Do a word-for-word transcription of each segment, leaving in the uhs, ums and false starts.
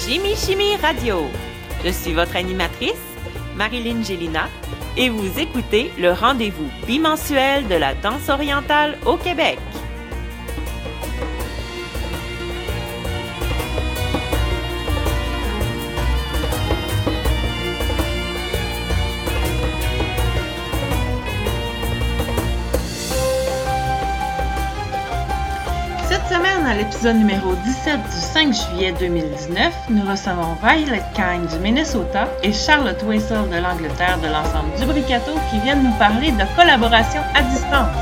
Chimie Chimie Radio. Je suis votre animatrice, Marilyn Gélina, et vous écoutez le rendez-vous bimensuel de la danse orientale au Québec. Cette semaine, à l'épisode numéro dix-sept du cinq juillet deux mille dix-neuf, nous recevons Violet Kine du Minnesota et Charlotte Waisel de l'Angleterre de l'ensemble Dubricato qui viennent nous parler de collaboration à distance.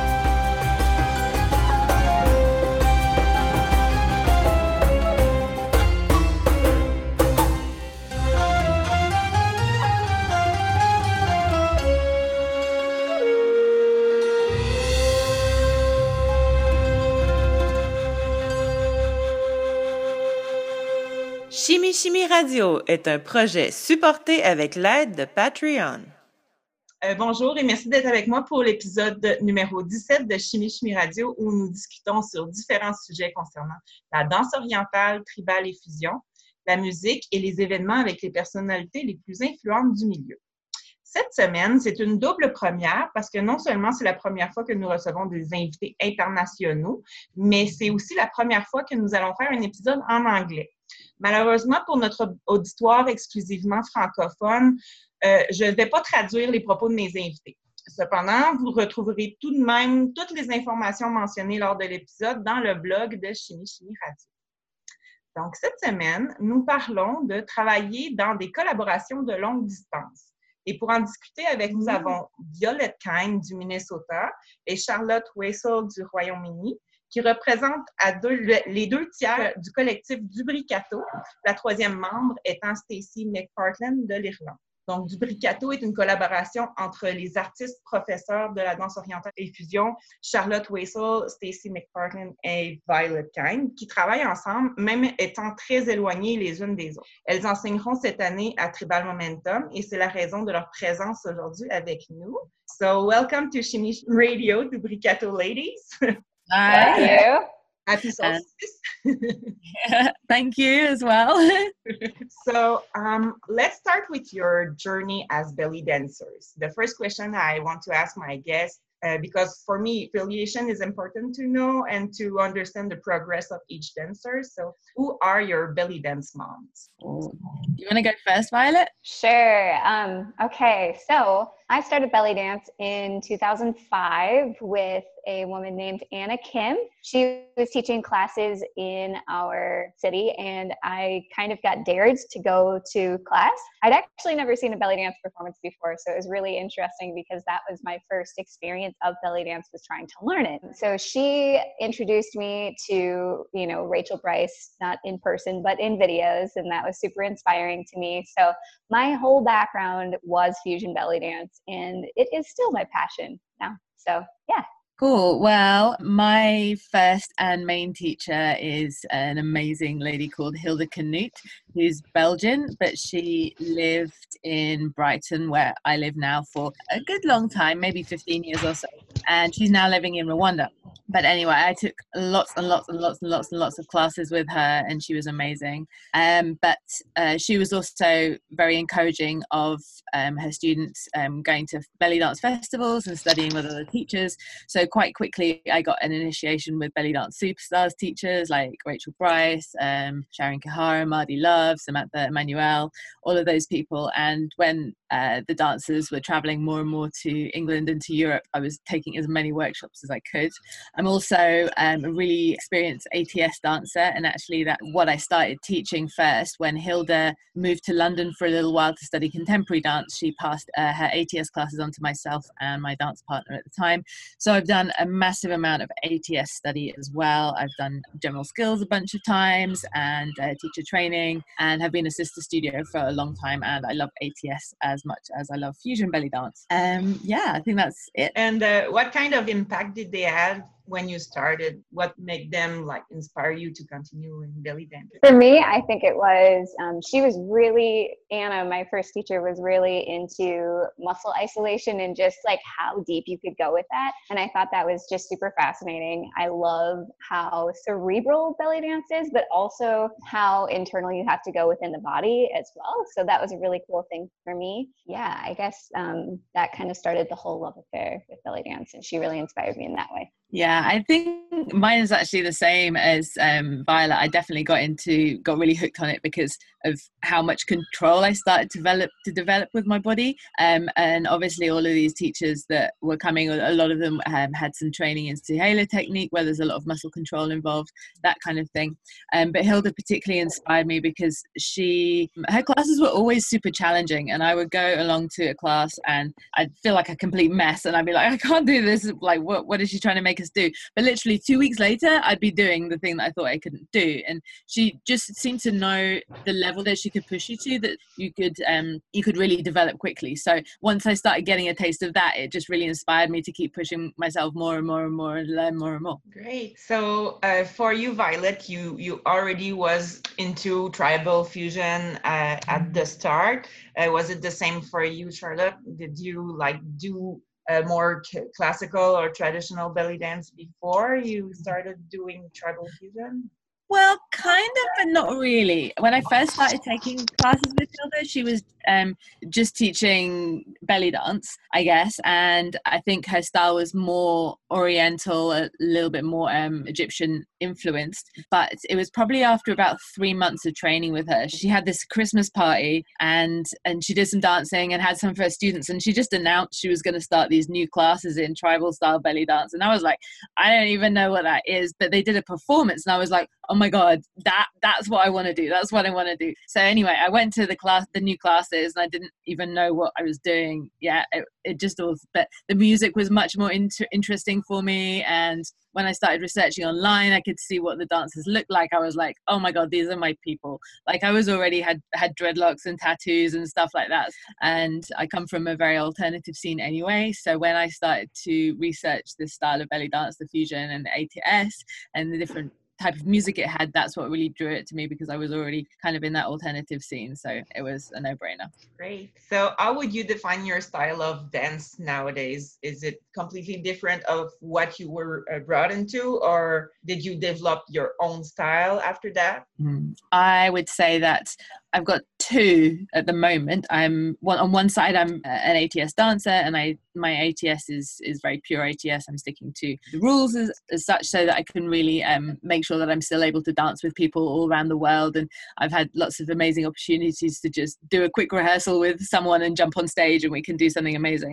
Chimie Chimie Radio est un projet supporté avec l'aide de Patreon. Euh, bonjour et merci d'être avec moi pour l'épisode numéro dix-sept de Chimie Chimie Radio où nous discutons sur différents sujets concernant la danse orientale, tribale et fusion, la musique et les événements avec les personnalités les plus influentes du milieu. Cette semaine, c'est une double première parce que non seulement c'est la première fois que nous recevons des invités internationaux, mais c'est aussi la première fois que nous allons faire un épisode en anglais. Malheureusement, pour notre auditoire exclusivement francophone, euh, je ne vais pas traduire les propos de mes invités. Cependant, vous retrouverez tout de même toutes les informations mentionnées lors de l'épisode dans le blog de Chimie Chimie Radio. Donc, cette semaine, nous parlons de travailler dans des collaborations de longue distance. Et pour en discuter avec nous, nous avons Violet Kine du Minnesota et Charlotte Waisel du Royaume-Uni, qui représentent à deux, les deux tiers du collectif Dubricato, la troisième membre étant Stacey McPartland de l'Irlande. Donc, Dubricato est une collaboration entre les artistes professeurs de la danse orientale et fusion, Charlotte Waisel, Stacey McPartland et Violet Kine, qui travaillent ensemble, même étant très éloignées les unes des autres. Elles enseigneront cette année à Tribal Momentum et c'est la raison de leur présence aujourd'hui avec nous. So, welcome to Chimie Radio, Dubricato ladies. Thank you. Happy solstice. Uh, thank you as well. So um, let's start with your journey as belly dancers. The first question I want to ask my guests, uh, because for me, affiliation is important to know and to understand the progress of each dancer. So who are your belly dance moms? Oh. You want to go first, Violet? Sure. Um, okay, so I started belly dance in two thousand five with a woman named Anna Kim. She was teaching classes in our city and I kind of got dared to go to class. I'd actually never seen a belly dance performance before, so it was really interesting because that was my first experience of belly dance, was trying to learn it. So she introduced me to, you know, Rachel Bryce, not in person, but in videos, and that was super inspiring to me. So my whole background was fusion belly dance and it is still my passion now. So yeah. Cool. Well, my first and main teacher is an amazing lady called Hilde Knut, who's Belgian, but she lived in Brighton, where I live now, for a good long time, maybe fifteen years or so. And she's now living in Rwanda. But anyway, I took lots and lots and lots and lots and lots of classes with her, and she was amazing. Um, but uh, she was also very encouraging of um, her students um, going to belly dance festivals and studying with other teachers. So quite quickly, I got an initiation with belly dance superstars teachers like Rachel Bryce, um, Sharon Kahara, Mardi Love, Samantha Emmanuel, all of those people. And when uh, the dancers were traveling more and more to England and to Europe, I was taking as many workshops as I could. I'm also um, a really experienced A T S dancer, and actually that what I started teaching first. When Hilda moved to London for a little while to study contemporary dance, she passed uh, her A T S classes on to myself and my dance partner at the time. So I've done a massive amount of A T S study as well. I've done general skills a bunch of times and uh, teacher training, and have been a sister studio for a long time, and I love A T S as much as I love fusion belly dance. Um, yeah, I think that's it. And uh, what kind of impact did they have when you started? What made them like inspire you to continue in belly dance? For me, I think it was, um, she was really, Anna, my first teacher, was really into muscle isolation and just like how deep you could go with that. And I thought that was just super fascinating. I love how cerebral belly dance is, but also how internal you have to go within the body as well. So that was a really cool thing for me. Yeah, I guess um, that kind of started the whole love affair with belly dance, and she really inspired me in that way. Yeah, I think mine is actually the same as um, Violet. I definitely got into, got really hooked on it because of how much control I started to develop to develop with my body. Um, and obviously all of these teachers that were coming, a lot of them um, had some training in Halo technique where there's a lot of muscle control involved, that kind of thing. Um, but Hilda particularly inspired me because she, her classes were always super challenging, and I would go along to a class and I'd feel like a complete mess and I'd be like, I can't do this. Like, what, what is she trying to make us do? But literally two weeks later, I'd be doing the thing that I thought I couldn't do. And she just seemed to know the level that she could push you to, that you could um you could really develop quickly. So once I started getting a taste of that, it just really inspired me to keep pushing myself more and more and more and learn more and more. Great. So uh, for you, Violet, you you already was into tribal fusion uh, at the start. Uh, was it the same for you, Charlotte? Did you like do uh, more c- classical or traditional belly dance before you started doing tribal fusion? Well, kind of, but not really. When I first started taking classes with Hilda, she was um, just teaching belly dance, I guess. And I think her style was more oriental, a little bit more um, Egyptian influenced. But it was probably after about three months of training with her. She had this Christmas party and, and she did some dancing and had some of her students. And she just announced she was going to start these new classes in tribal style belly dance. And I was like, I don't even know what that is. But they did a performance and I was like, oh my God, that that's what I want to do. That's what I want to do. So anyway, I went to the class, the new classes, and I didn't even know what I was doing. Yeah, it, it just all, but the music was much more inter- interesting for me. And when I started researching online, I could see what the dancers looked like. I was like, oh my God, these are my people. Like I was already had, had dreadlocks and tattoos and stuff like that. And I come from a very alternative scene anyway. So when I started to research this style of belly dance, the fusion and the A T S and the different type of music it had, that's what really drew it to me because I was already kind of in that alternative scene. So it was a no-brainer. Great. So how would you define your style of dance nowadays? Is it completely different of what you were uh, brought into, or did you develop your own style after that? Mm. I would say that I've got two at the moment. I'm one on one side, I'm an A T S dancer, and I my A T S is is very pure A T S. I'm sticking to the rules as, as such, so that I can really um, make sure that I'm still able to dance with people all around the world. And I've had lots of amazing opportunities to just do a quick rehearsal with someone and jump on stage, and we can do something amazing.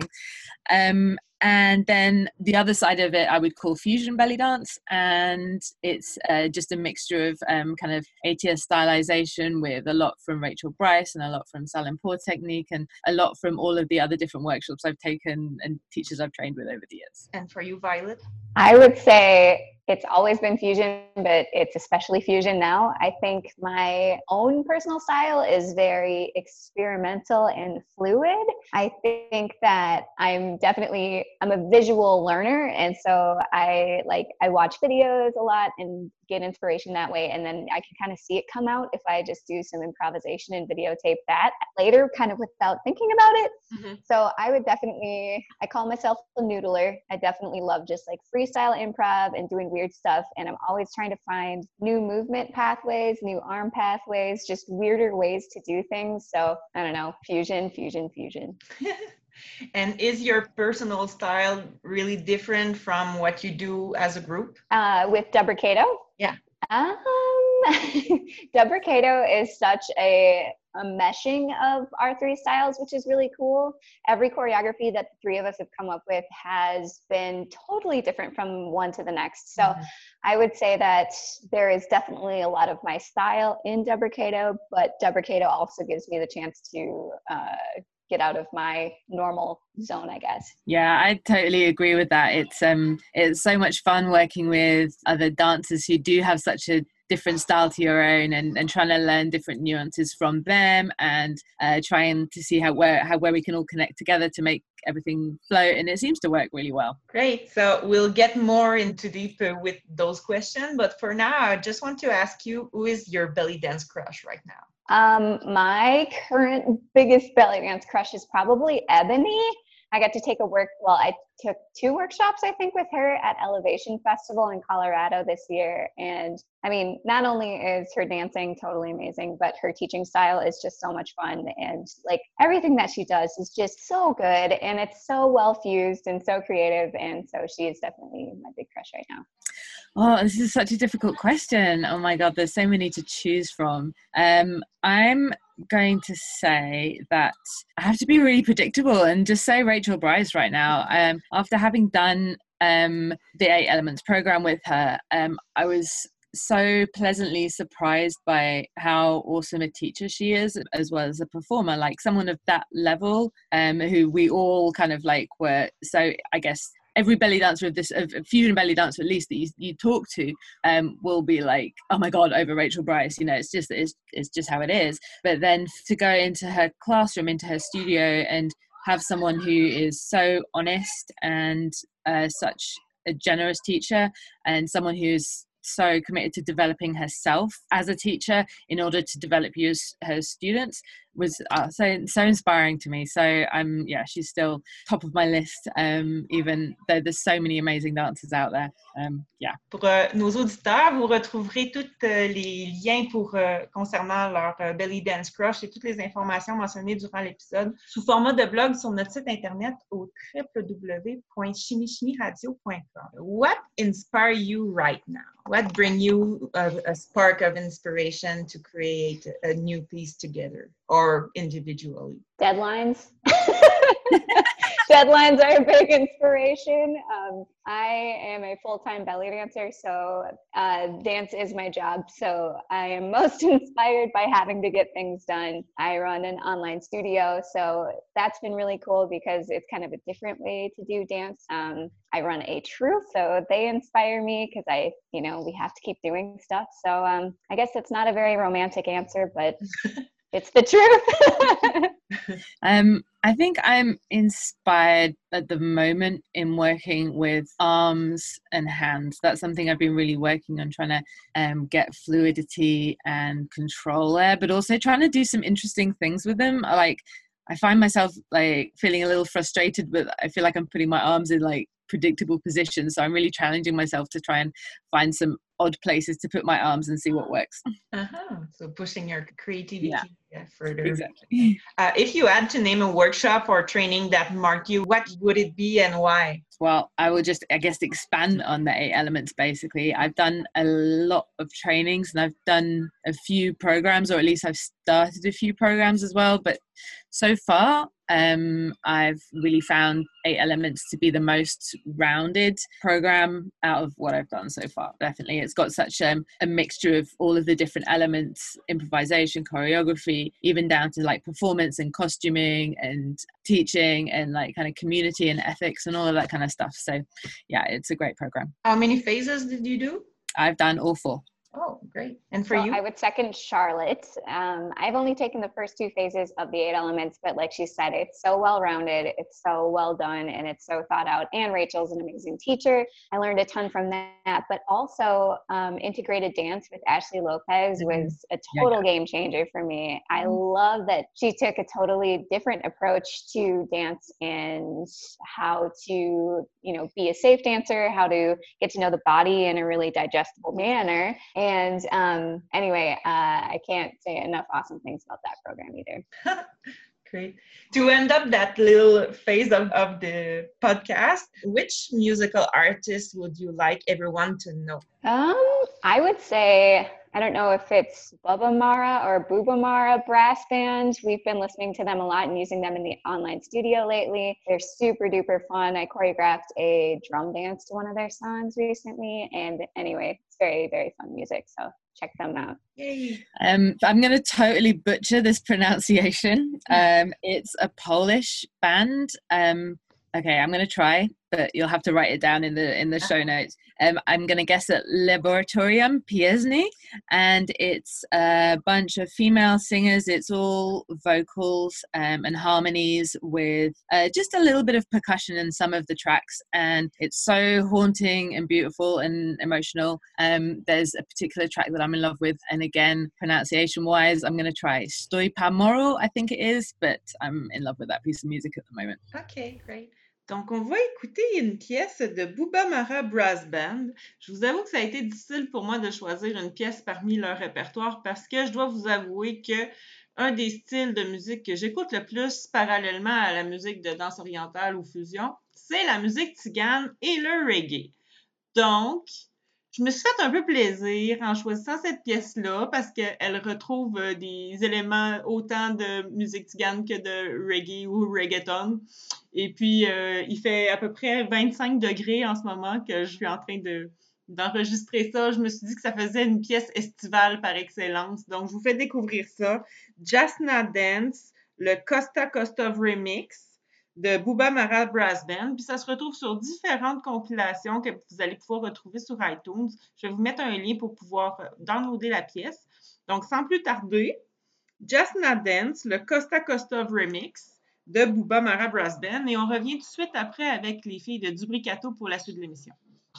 Um, And then the other side of it, I would call fusion belly dance. And it's uh, just a mixture of um, kind of A T S stylization with a lot from Rachel Bryce and a lot from Salin Pour technique and a lot from all of the other different workshops I've taken and teachers I've trained with over the years. And for you, Violet? I would say it's always been fusion, but it's especially fusion now. I think my own personal style is very experimental and fluid. I think that I'm definitely, I'm a visual learner. And so I like, I watch videos a lot and get inspiration that way. And then I can kind of see it come out if I just do some improvisation and videotape that later, kind of without thinking about it. Mm-hmm. So I would definitely, I call myself a noodler. I definitely love just like freestyle improv and doing weird stuff. And I'm always trying to find new movement pathways, new arm pathways, just weirder ways to do things. So I don't know, fusion, fusion, fusion. And is your personal style really different from what you do as a group? Uh, with Dubricato? Yeah. Um, Dubricato is such a, a meshing of our three styles, which is really cool. Every choreography that the three of us have come up with has been totally different from one to the next. So mm-hmm. I would say that there is definitely a lot of my style in Dubricato, but Dubricato also gives me the chance to uh, get out of my normal zone, I guess. Yeah, I totally agree with that. It's um, it's so much fun working with other dancers who do have such a different style to your own, and, and trying to learn different nuances from them, and uh, trying to see how where how where we can all connect together to make everything flow. And it seems to work really well. Great. So we'll get more into deep uh, with those questions. But for now, I just want to ask you, who is your belly dance crush right now? Um, my current biggest belly dance crush is probably Ebony. I got to take a work, well, I took two workshops, I think, with her at Elevation Festival in Colorado this year. And I mean, not only is her dancing totally amazing, but her teaching style is just so much fun. And like everything that she does is just so good, and it's so well fused and so creative. And so she is definitely my big crush right now. Oh, this is such a difficult question. Oh my God, there's so many to choose from. Um, I'm going to say that I have to be really predictable and just say Rachel Bryce right now. Um, after having done um, the Eight Elements program with her, um, I was so pleasantly surprised by how awesome a teacher she is, as well as a performer, like someone of that level, um, who we all kind of like were. So I guess every belly dancer of this, a fusion belly dancer at least that you, you talk to, um, will be like, oh my God, over Rachel Bryce. You know, it's just, it's, it's just how it is. But then to go into her classroom, into her studio, and have someone who is so honest and uh, such a generous teacher, and someone who's so committed to developing herself as a teacher in order to develop you as her students, was uh, so so inspiring to me. So I'm yeah she's still top of my list, um, even though there's so many amazing dancers out there. Um, yeah. Pour euh, nos auditeurs, vous retrouverez tous euh, les liens pour euh, concernant leur euh, belly dance crush et toutes les informations mentionnées durant l'épisode sous format de blog sur notre site internet au w w w point chimie chimie radio point com. What inspires you right now? What brings you a, a spark of inspiration to create a new piece together or individually? Deadlines. Deadlines are a big inspiration. Um, I am a full-time belly dancer, so uh, dance is my job. So I am most inspired by having to get things done. I run an online studio, so that's been really cool because it's kind of a different way to do dance. Um, I run a troupe, so they inspire me because I, you know, we have to keep doing stuff. So um, I guess it's not a very romantic answer, but it's the truth. um, I think I'm inspired at the moment in working with arms and hands. That's something I've been really working on, trying to um, get fluidity and control there, but also trying to do some interesting things with them. Like, I find myself like feeling a little frustrated, but I feel like I'm putting my arms in like predictable positions. So I'm really challenging myself to try and find some odd places to put my arms and see what works. Uh-huh. So pushing your creativity yeah. Yeah, further. Exactly. Uh, if you had to name a workshop or training that marked you, what would it be and why? Well, I will just, I guess, expand on the eight elements, basically. I've done a lot of trainings and I've done a few programs, or at least I've started a few programs as well. But so far, um, I've really found eight elements to be the most rounded program out of what I've done so far. Definitely. It's got such um, a mixture of all of the different elements, improvisation, choreography, even down to like performance and costuming and teaching and like kind of community and ethics and all of that kind of stuff. So yeah, it's a great program. How many phases did you do? I've done all four. Oh, great. And for so you? I would second Charlotte. Um, I've only taken the first two phases of the eight elements, but like she said, it's so well-rounded, it's so well done, and it's so thought out. And Rachel's an amazing teacher. I learned a ton from that, but also um, integrated dance with Ashley Lopez was a total yeah, yeah. game changer for me. I love that she took a totally different approach to dance and how to, you know, be a safe dancer, how to get to know the body in a really digestible manner. And um, anyway, uh, I can't say enough awesome things about that program either. Great. To end up that little phase of, of the podcast, which musical artist would you like everyone to know? Um, I would say, I don't know if it's Bubba Mara or Booba Mara brass band. We've been listening to them a lot and using them in the online studio lately. They're super duper fun. I choreographed a drum dance to one of their songs recently. And anyway, it's very, very fun music. So check them out. Yay. Um, I'm going to totally butcher this pronunciation. Um, it's a Polish band. Um, okay, I'm going to try. but you'll have to write it down in the in the show notes. Um, I'm going to guess at Laboratorium Pieśni, and it's a bunch of female singers. It's all vocals um, and harmonies with uh, just a little bit of percussion in some of the tracks, and it's so haunting and beautiful and emotional. Um, there's a particular track that I'm in love with, and again, pronunciation-wise, I'm going to try Stoi pa moro, I think it is, but I'm in love with that piece of music at the moment. Okay, great. Donc, on va écouter une pièce de Booba Mara Brass Band. Je vous avoue que ça a été difficile pour moi de choisir une pièce parmi leur répertoire parce que je dois vous avouer que un des styles de musique que j'écoute le plus parallèlement à la musique de danse orientale ou fusion, c'est la musique tzigane et le reggae. Donc, je me suis fait un peu plaisir en choisissant cette pièce-là parce qu'elle retrouve des éléments autant de musique tzigane que de reggae ou reggaeton. Et puis, euh, il fait à peu près vingt-cinq degrés en ce moment que je suis en train de, d'enregistrer ça. Je me suis dit que ça faisait une pièce estivale par excellence. Donc, je vous fais découvrir ça. Jasna Dance, le Costa Costa Remix de Booba Mara Brass Band. Puis ça se retrouve sur différentes compilations que vous allez pouvoir retrouver sur iTunes. Je vais vous mettre un lien pour pouvoir downloader la pièce. Donc, sans plus tarder, Jasna Dance, le Costa Costa Remix de Booba Mara Brass Band. Et on revient tout de suite après avec les filles de Dubricato pour la suite de l'émission.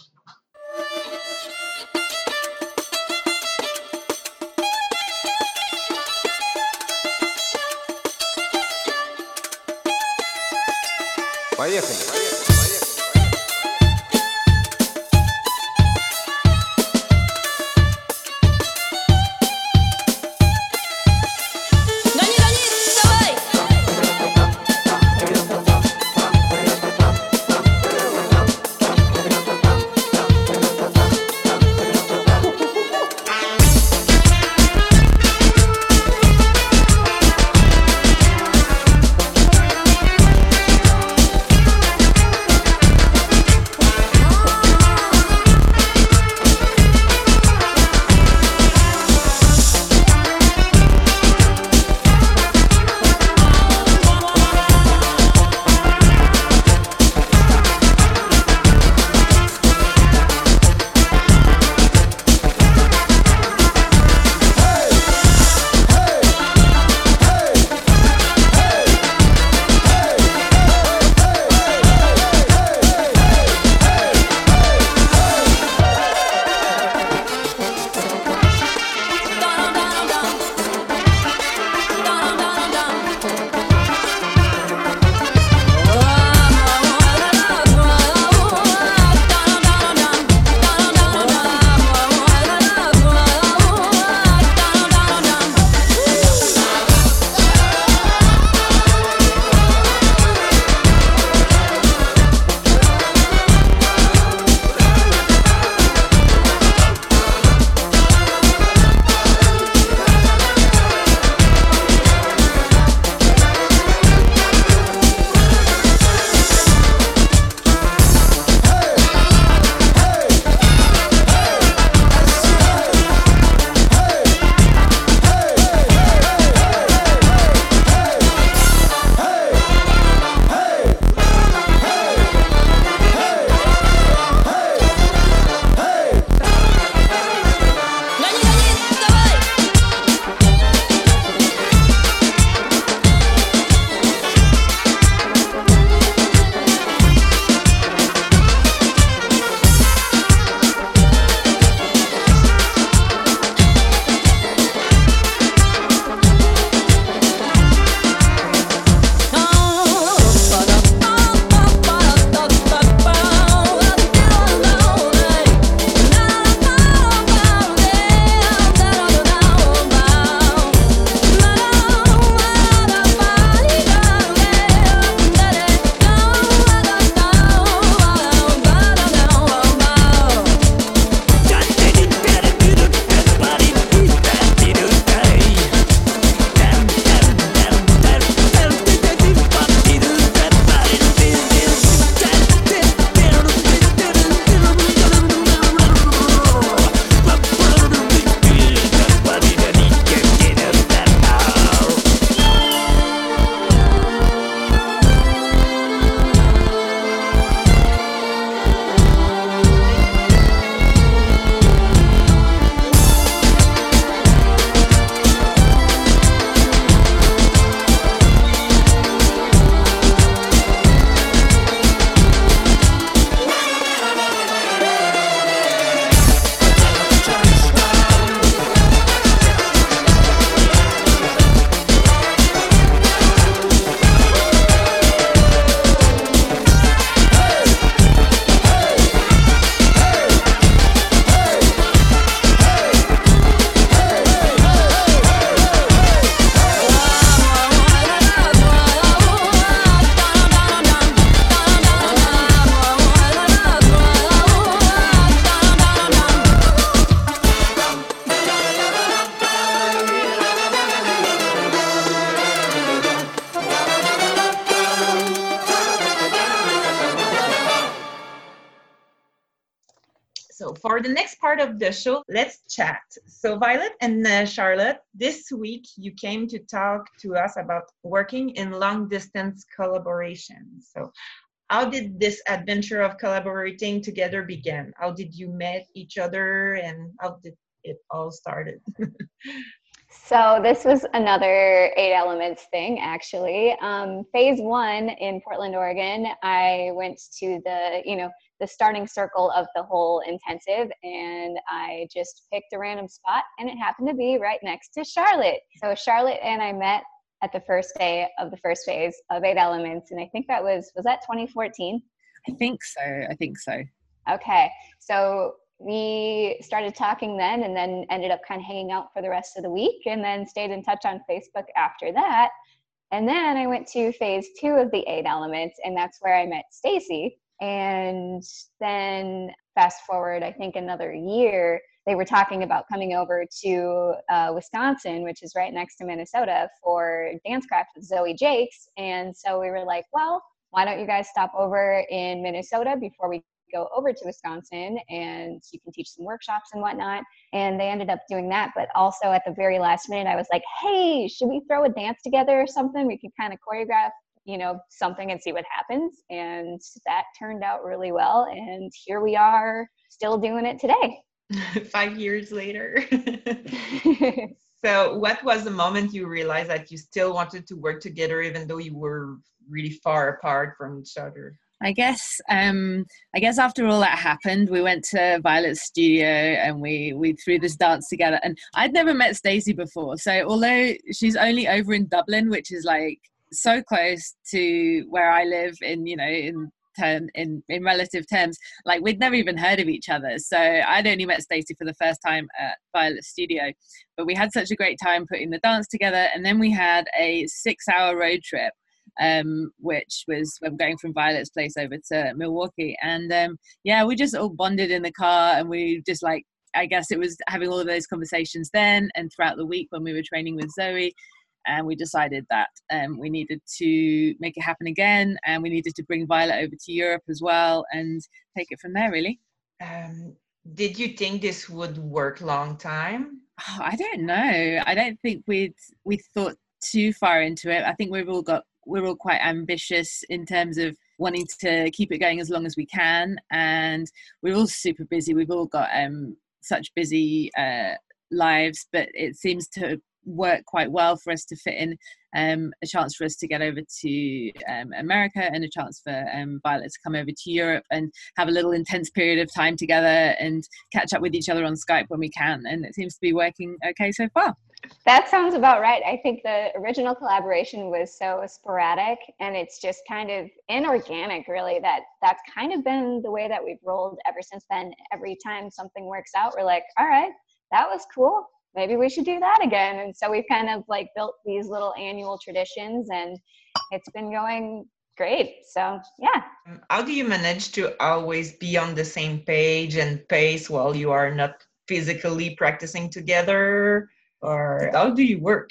Поехали! for the next part of the show, let's chat. So Violet and uh, Charlotte, this week you came to talk to us about working in long-distance collaboration. So how did this adventure of collaborating together begin? How did you meet each other and how did it all started? So this was another Eight Elements thing, actually. Um, phase one in Portland, Oregon, I went to the, you know, the starting circle of the whole intensive, and I just picked a random spot, and it happened to be right next to Charlotte. So Charlotte and I met at the first day of the first phase of Eight Elements, and I think that was, was that twenty fourteen? I think so. I think so. Okay. So we started talking then, and then ended up kind of hanging out for the rest of the week, and then stayed in touch on Facebook after that. And then I went to phase two of the Eight Elements, and that's where I met Stacy. And then fast forward, I think another year, they were talking about coming over to uh, Wisconsin, which is right next to Minnesota, for Dancecraft with Zoe Jakes. And so we were like, well, why don't you guys stop over in Minnesota before we go over to Wisconsin, and you can teach some workshops and whatnot. And they ended up doing that. But also at the very last minute, I was like, hey, should we throw a dance together or something? We could kind of choreograph, you know, something and see what happens. And that turned out really well. And here we are still doing it today. Five years later. So what was the moment you realized that you still wanted to work together, even though you were really far apart from each other? I guess um, I guess after all that happened, we went to Violet's studio and we we threw this dance together. And I'd never met Stacey before, so although she's only over in Dublin, which is like so close to where I live in, you know, in term in in relative terms, like we'd never even heard of each other. So I'd only met Stacey for the first time at Violet's studio, but we had such a great time putting the dance together. And then we had a six-hour road trip. Um, which was I'm going from Violet's place over to Milwaukee, and um, yeah, we just all bonded in the car, and we just like I guess it was having all of those conversations then and throughout the week when we were training with Zoe, and we decided that um, we needed to make it happen again, and we needed to bring Violet over to Europe as well and take it from there. Really. Um, did you think this would work long time? Oh, I don't know. I don't think we'd we thought too far into it. I think we've all got. We're all quite ambitious in terms of wanting to keep it going as long as we can. And we're all super busy. We've all got um, such busy uh, lives, but it seems to work quite well for us to fit in um, a chance for us to get over to um, America and a chance for um, Violet to come over to Europe and have a little intense period of time together and catch up with each other on Skype when we can. And it seems to be working okay so far. That sounds about right. I think the original collaboration was so sporadic, and it's just kind of inorganic, really, that that's kind of been the way that we've rolled ever since then. Every time something works out, we're like, all right, that was cool. Maybe we should do that again. And so we've kind of like built these little annual traditions, and it's been going great. So, yeah. How do you manage to always be on the same page and pace while you are not physically practicing together? Or how do you work?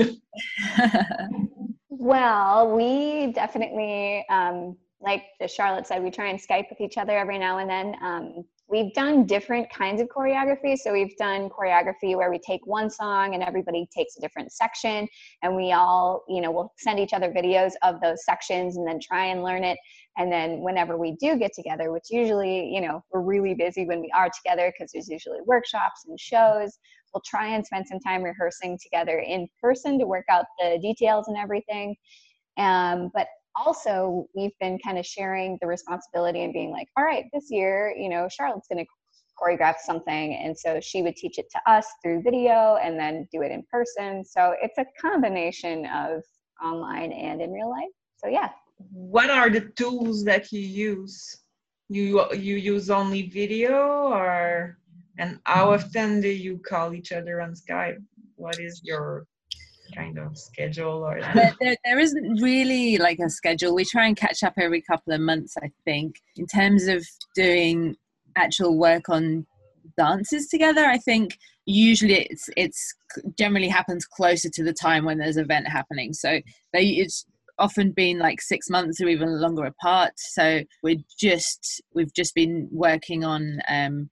Well, we definitely, um, like Charlotte said, we try and Skype with each other every now and then. Um, we've done different kinds of choreography. So we've done choreography where we take one song and everybody takes a different section, and we all, you know, we'll send each other videos of those sections and then try and learn it. And then whenever we do get together, which usually, you know, we're really busy when we are together because there's usually workshops and shows, we'll try and spend some time rehearsing together in person to work out the details and everything. Um, but also, we've been kind of sharing the responsibility and being like, all right, this year, you know, Charlotte's going to choreograph something. And so she would teach it to us through video and then do it in person. So it's a combination of online and in real life. So, yeah. What are the tools that you use? You you use only video, or and how often do you call each other on Skype? What is your kind of schedule? Or there, there, there isn't really like a schedule. We try and catch up every couple of months, I think. In terms of doing actual work on dances together, I think usually it's it's generally happens closer to the time when there's an event happening. So they it's often been like six months or even longer apart. So we're just we've just been working on um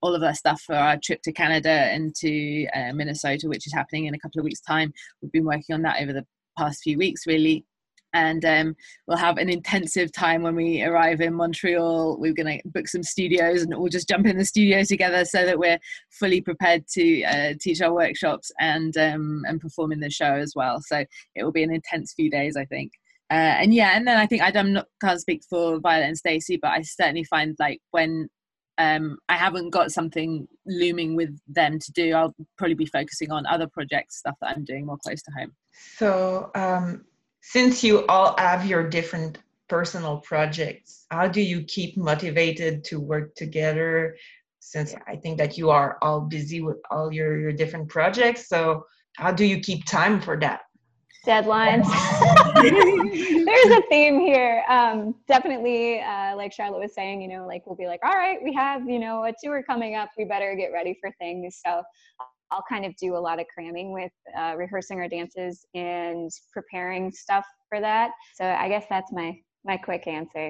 all of that stuff for our trip to Canada and to uh, Minnesota, which is happening in a couple of weeks' time. We've been working on that over the past few weeks, really. And um, we'll have an intensive time when we arrive in Montreal. We're going to book some studios and we'll just jump in the studio together so that we're fully prepared to uh, teach our workshops and um, and perform in the show as well. So it will be an intense few days, I think. Uh, and yeah, and then I think I don't, can't speak for Violet and Stacey, but I certainly find like when um, I haven't got something looming with them to do, I'll probably be focusing on other projects, stuff that I'm doing more close to home. So, um, since you all have your different personal projects, how do you keep motivated to work together? Since I think that you are all busy with all your, your different projects. So how do you keep time for that? Deadlines. There's a theme here. Um, definitely, uh, like Charlotte was saying, you know, like we'll be like, all right, we have, you know, a tour coming up. We better get ready for things. So I'll kind of do a lot of cramming with uh, rehearsing our dances and preparing stuff for that. So I guess that's my my quick answer.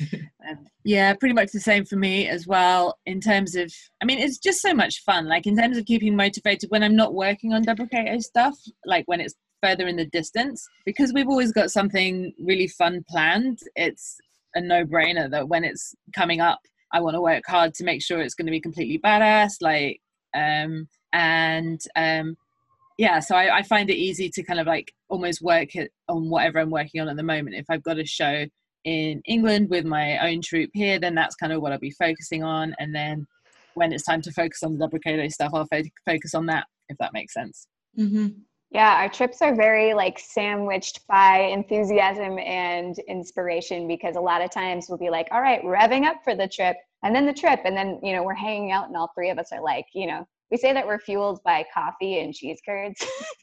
Yeah, pretty much the same for me as well. In terms of, I mean, it's just so much fun. Like in terms of keeping motivated when I'm not working on Deprecato stuff, like when it's further in the distance, because we've always got something really fun planned. It's a no-brainer that when it's coming up, I want to work hard to make sure it's going to be completely badass. Like, um. And um, yeah, so I, I find it easy to kind of like almost work it on whatever I'm working on at the moment. If I've got a show in England with my own troupe here, then that's kind of what I'll be focusing on. And then when it's time to focus on the Deprecato stuff, I'll fo- focus on that, if that makes sense. Mm-hmm. Yeah, our trips are very like sandwiched by enthusiasm and inspiration, because a lot of times we'll be like, all right, revving up for the trip, and then the trip, and then, you know, we're hanging out and all three of us are like, you know, we say that we're fueled by coffee and cheese curds.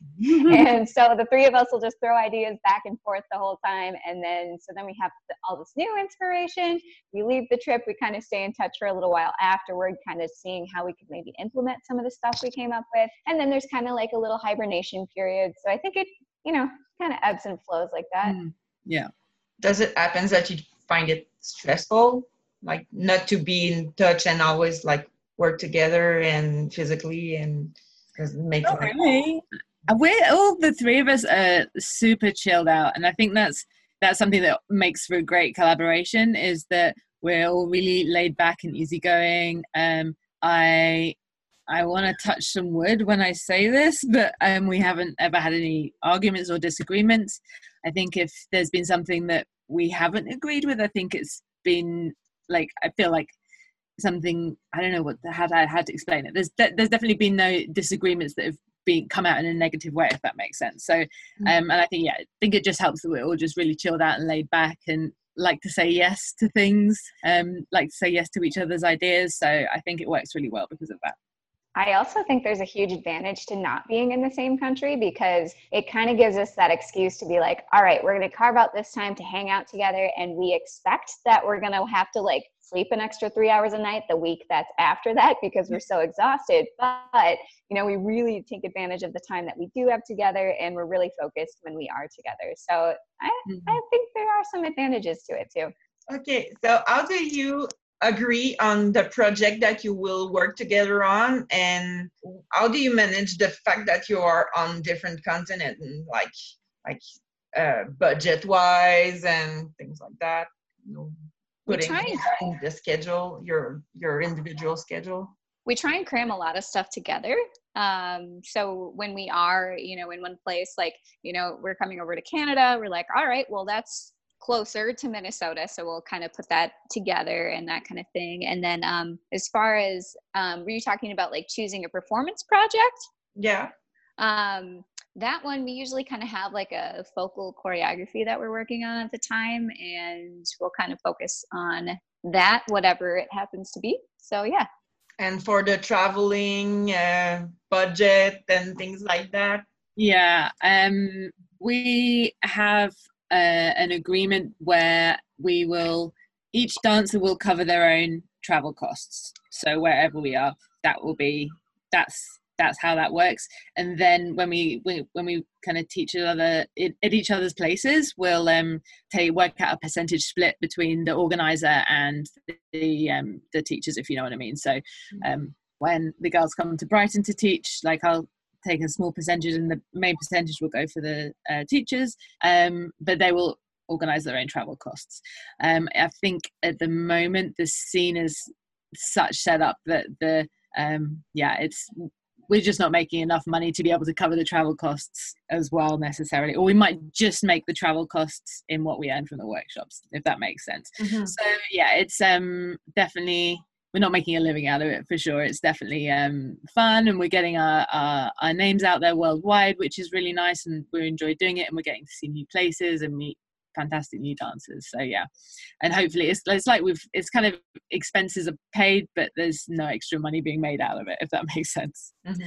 And so the three of us will just throw ideas back and forth the whole time. And then, so then we have the, all this new inspiration. We leave the trip, we kind of stay in touch for a little while afterward, kind of seeing how we could maybe implement some of the stuff we came up with. And then there's kind of like a little hibernation period. So I think it, you know, kind of ebbs and flows like that. Mm, yeah. Does it happen that you find it stressful? Like not to be in touch and always like work together and physically and make Not really. We're all the three of us are super chilled out, and I think that's that's something that makes for a great collaboration, is that we're all really laid back and easygoing. Um, I I want to touch some wood when I say this, but um, we haven't ever had any arguments or disagreements. I think if there's been something that we haven't agreed with, I think it's been like, I feel like something, I don't know what how to, how to explain it. There's de- there's definitely been no disagreements that have been come out in a negative way, if that makes sense. So, um, and I think yeah, I think it just helps that we're all just really chilled out and laid back and like to say yes to things, um, like to say yes to each other's ideas. So I think it works really well because of that. I also think there's a huge advantage to not being in the same country, because it kind of gives us that excuse to be like, all right, we're going to carve out this time to hang out together. And we expect that we're going to have to like sleep an extra three hours a night the week that's after that, because we're so exhausted. But, you know, we really take advantage of the time that we do have together, and we're really focused when we are together. So I, mm-hmm. I think there are some advantages to it too. Okay. So how do you agree on the project that you will work together on, and how do you manage the fact that you are on different continents, and like like uh, budget wise and things like that? You know, putting in the schedule, your your individual schedule. We try and cram a lot of stuff together. Um, so when we are, you know, in one place, like, you know, we're coming over to Canada, we're like, all right, well, that's closer to Minnesota, so we'll kind of put that together and that kind of thing. And then um as far as um were you talking about like choosing a performance project? Yeah. Um that one we usually kind of have like a focal choreography that we're working on at the time, and we'll kind of focus on that, whatever it happens to be. So yeah. And for the traveling uh, budget and things like that? Yeah, um we have Uh, an agreement where we will, each dancer will cover their own travel costs. So wherever we are, that will be, that's that's how that works. And then when we, we when we kind of teach each other at each other's places, we'll um take work out a percentage split between the organizer and the um the teachers, if you know what I mean. So um when the girls come to Brighton to teach, like I'll take a small percentage and the main percentage will go for the uh, teachers, um but they will organize their own travel costs. um I think at the moment the scene is such set up that the um yeah it's we're just not making enough money to be able to cover the travel costs as well necessarily, or we might just make the travel costs in what we earn from the workshops, if that makes sense. Mm-hmm. So yeah, it's um definitely, we're not making a living out of it for sure. It's definitely um fun, and we're getting our, our our names out there worldwide, which is really nice, and we enjoy doing it, and we're getting to see new places and meet fantastic new dancers. So yeah, and hopefully it's it's like we've it's kind of expenses are paid, but there's no extra money being made out of it, if that makes sense. Mm-hmm.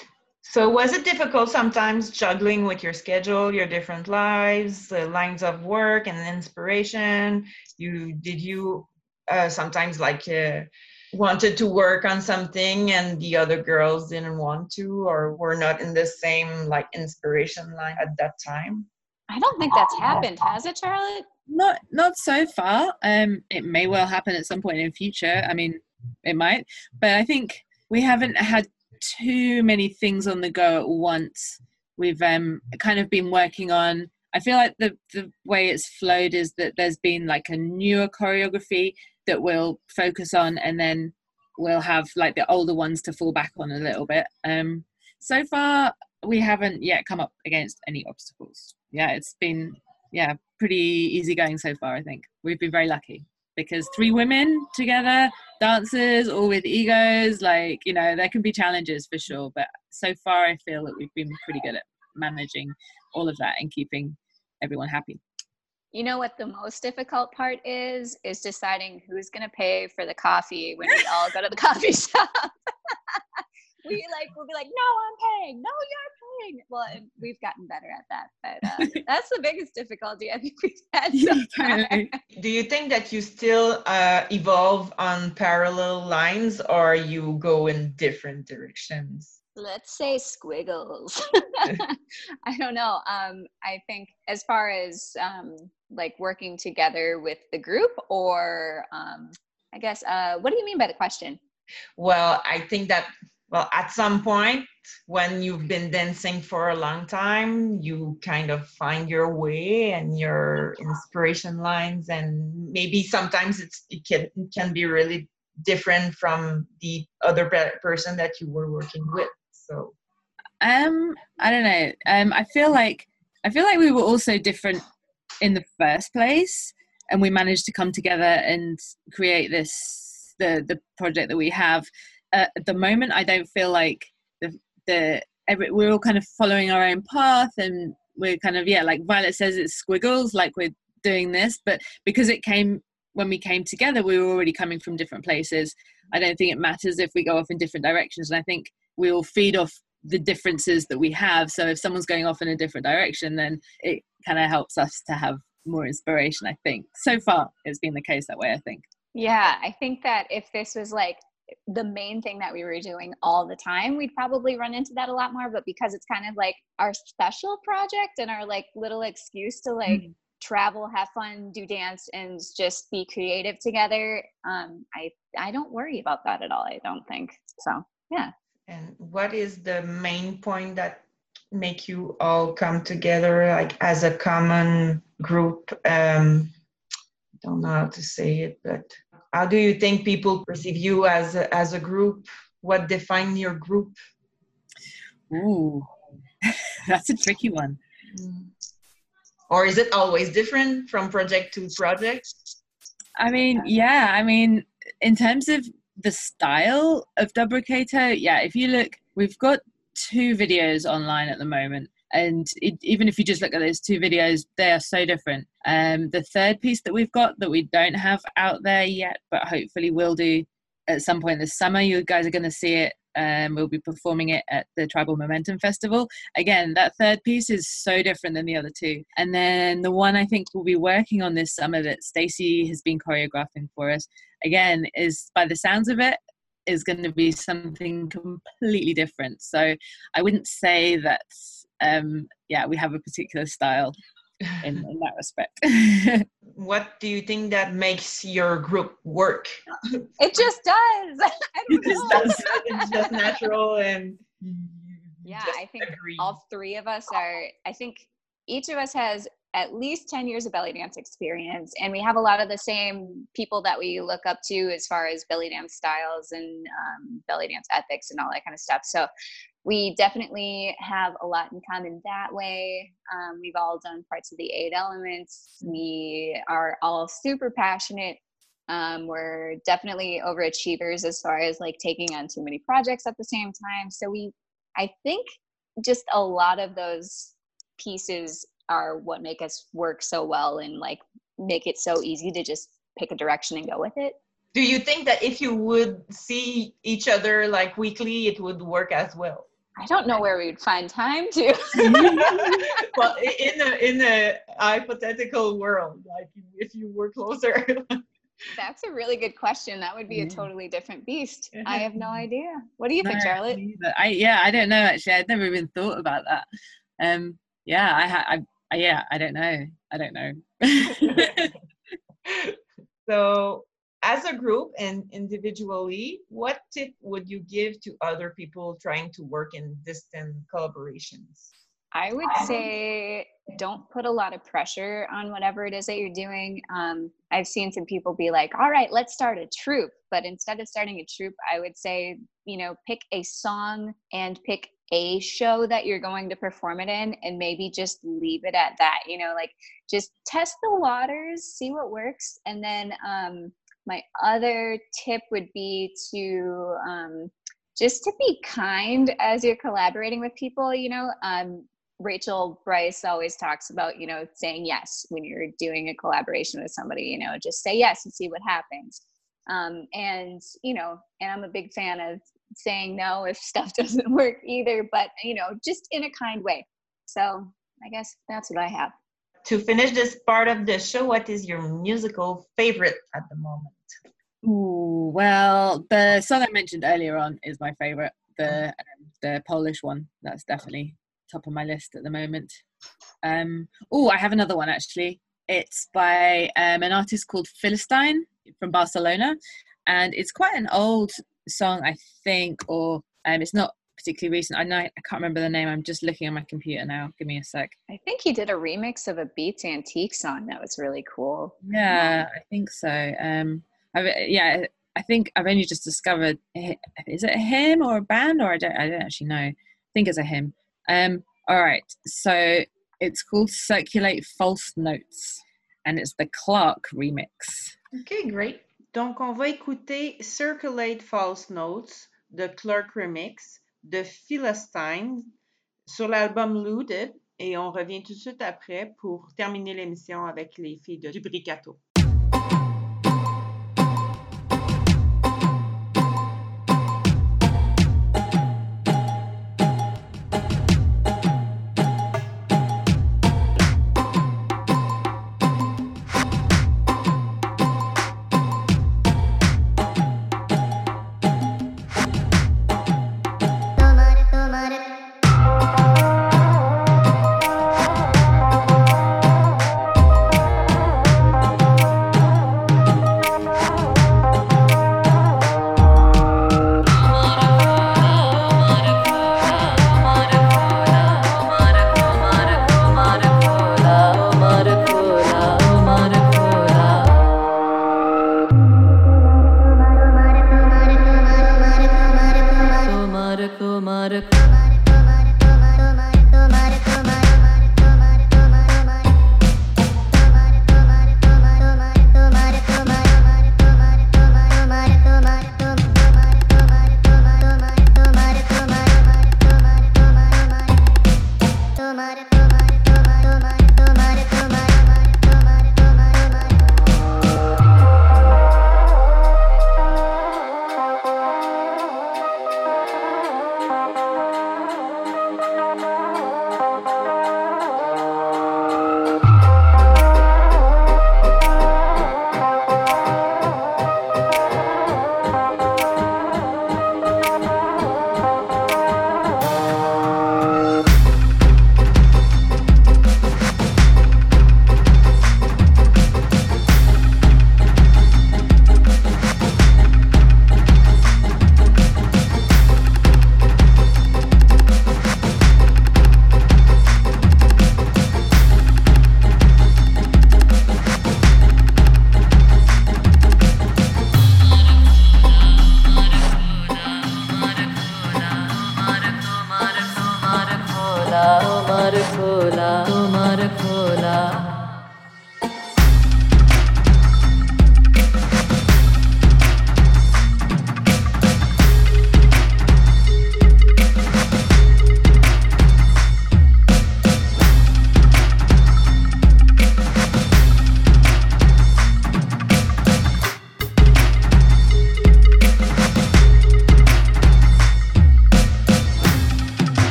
So was it difficult sometimes juggling with your schedule, your different lives, the lines of work and inspiration? You did you uh, sometimes like uh, wanted to work on something and the other girls didn't want to, or were not in the same like inspiration line at that time? I don't think that's happened, has it, Charlotte? Not not so far. Um, it may well happen at some point in future. I mean, it might, but I think we haven't had too many things on the go at once. We've um kind of been working on. I feel like the the way it's flowed is that there's been like a newer choreography that we'll focus on, and then we'll have like the older ones to fall back on a little bit. Um, so far we haven't yet come up against any obstacles. Yeah, it's been, yeah, pretty easy going so far, I think. We've been very lucky because three women together, dancers, all with egos, like, you know, there can be challenges for sure. But so far, I feel that we've been pretty good at managing all of that and keeping everyone happy. You know what the most difficult part is? Is deciding who's going to pay for the coffee when we all go to the coffee shop. We like, we'll be like, no, I'm paying. No, you're paying. Well, and we've gotten better at that, but uh, that's the biggest difficulty I think we've had so far. Do you think that you still uh, evolve on parallel lines, or you go in different directions? Let's say squiggles. I don't know. Um, I think as far as um, like working together with the group, or um, I guess, uh, what do you mean by the question? Well, I think that Well, at some point, when you've been dancing for a long time, you kind of find your way and your inspiration lines, and maybe sometimes it's, it can, it can be really different from the other pe- person that you were working with. So, um, I don't know. Um, I feel like I feel like we were also different in the first place, and we managed to come together and create this the the project that we have. Uh, at the moment, I don't feel like the the every, we're all kind of following our own path, and we're kind of, yeah, like Violet says, it's squiggles, like we're doing this, but because it came when we came together, we were already coming from different places. I don't think it matters if we go off in different directions, and I think we all feed off the differences that we have. So if someone's going off in a different direction, then it kind of helps us to have more inspiration. I think so far it's been the case that way. I think. Yeah, I think that if this was like the main thing that we were doing all the time, we'd probably run into that a lot more. But because it's kind of like our special project and our like little excuse to like mm-hmm. travel, have fun, do dance, and just be creative together, um, I I don't worry about that at all. I don't think so. Yeah. And what is the main point that make you all come together, like as a common group? Um, I don't know how to say it, but how do you think people perceive you as a, as a group? What defines your group? Ooh, that's a tricky one. Or is it always different from project to project? I mean, yeah, I mean, in terms of the style of Dubricator, yeah, if you look, we've got two videos online at the moment. And it, even if you just look at those two videos, they are so different. Um, the third piece that we've got that we don't have out there yet, but hopefully will do at some point this summer, you guys are going to see it. Um, we'll be performing it at the Tribal Momentum Festival. Again, that third piece is so different than the other two. And then the one I think we'll be working on this summer that Stacey has been choreographing for us, again, is by the sounds of it, is going to be something completely different. So I wouldn't say that, um, yeah, we have a particular style in, in that respect. What do you think that makes your group work? It just does. I don't It just know. does. It's just natural and Yeah, just I think agree. all three of us are, I think each of us has at least ten years of belly dance experience, and we have a lot of the same people that we look up to as far as belly dance styles and um, belly dance ethics and all that kind of stuff. So we definitely have a lot in common that way. Um, we've all done parts of the eight elements. We are all super passionate. Um, we're definitely overachievers as far as like taking on too many projects at the same time. So we, I think just a lot of those pieces are what make us work so well and like make it so easy to just pick a direction and go with it. Do you think that if you would see each other like weekly, it would work as well? I don't know where we'd find time to. Well, in a in a hypothetical world, like if you were closer. That's a really good question. That would be a totally different beast. I have no idea. What do you No, think, Charlotte? I yeah, I don't know actually. I'd never even thought about that. Um, yeah, I ha- I, I yeah, I don't know. I don't know. So, as a group and individually, what tip would you give to other people trying to work in distant collaborations? I would say don't put a lot of pressure on whatever it is that you're doing. Um, I've seen some people be like, all right, let's start a troupe. But instead of starting a troupe, I would say, you know, pick a song and pick a show that you're going to perform it in, and maybe just leave it at that. You know, like just test the waters, see what works. And then um, my other tip would be to um, just to be kind as you're collaborating with people, you know. Um, Rachel Bryce always talks about, you know, saying yes when you're doing a collaboration with somebody, you know, just say yes and see what happens. Um, and, you know, and I'm a big fan of saying no if stuff doesn't work either, but, you know, just in a kind way. So I guess that's what I have. To finish this part of the show, what is your musical favorite at the moment? Ooh, well, the song I mentioned earlier on is my favorite. The um, the Polish one. That's definitely top of my list at the moment. Um, oh, I have another one actually. It's by um, an artist called Philistine from Barcelona, and it's quite an old song, I think, or um, it's not particularly recent. I know I can't remember the name. I'm just looking on my computer now. Give me a sec. I think he did a remix of a Beats Antique song that was really cool. Yeah, I think so. Um, I've, yeah, I think I've only just discovered. Is it a him or a band, or I don't? I don't actually know. I think it's a him. Um, all right, so it's called Circulate False Notes, and it's the Clark remix. Okay, great. Donc, on va écouter Circulate False Notes, the Clark remix, de Philistine, sur l'album Looted, et on revient tout de suite après pour terminer l'émission avec les filles de Dubricato. Tomare, tomare.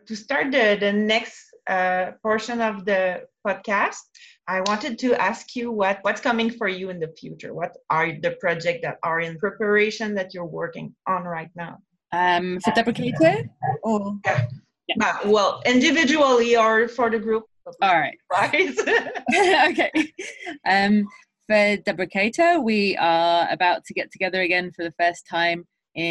to start the, the next uh, portion of the podcast, I wanted to ask you what, what's coming for you in the future. What are the projects that are in preparation that you're working on right now? Um, for Deprecator? Or Yeah. Yeah. Uh, well, individually or for the group. All right. Right. Okay. Um, for Deprecator, we are about to get together again for the first time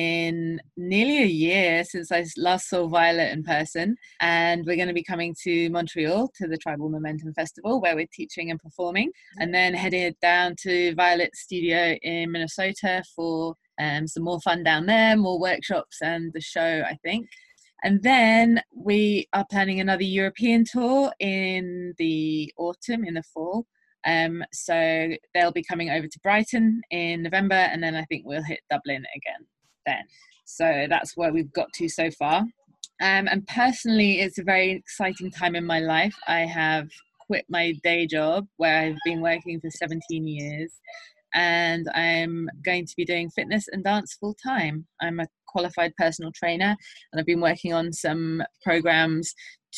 in nearly a year since I last saw Violet in person, and we're going to be coming to Montreal to the Tribal Momentum Festival where we're teaching and performing, and then headed down to Violet's studio in Minnesota for um, some more fun down there, more workshops and the show, I think. And then we are planning another European tour in the autumn, in the fall. Um, so they'll be coming over to Brighton in November, and then I think we'll hit Dublin again then. So that's where we've got to so far. Um, and personally, it's a very exciting time in my life. I have quit my day job where I've been working for seventeen years, and I'm going to be doing fitness and dance full time. I'm a qualified personal trainer, and I've been working on some programs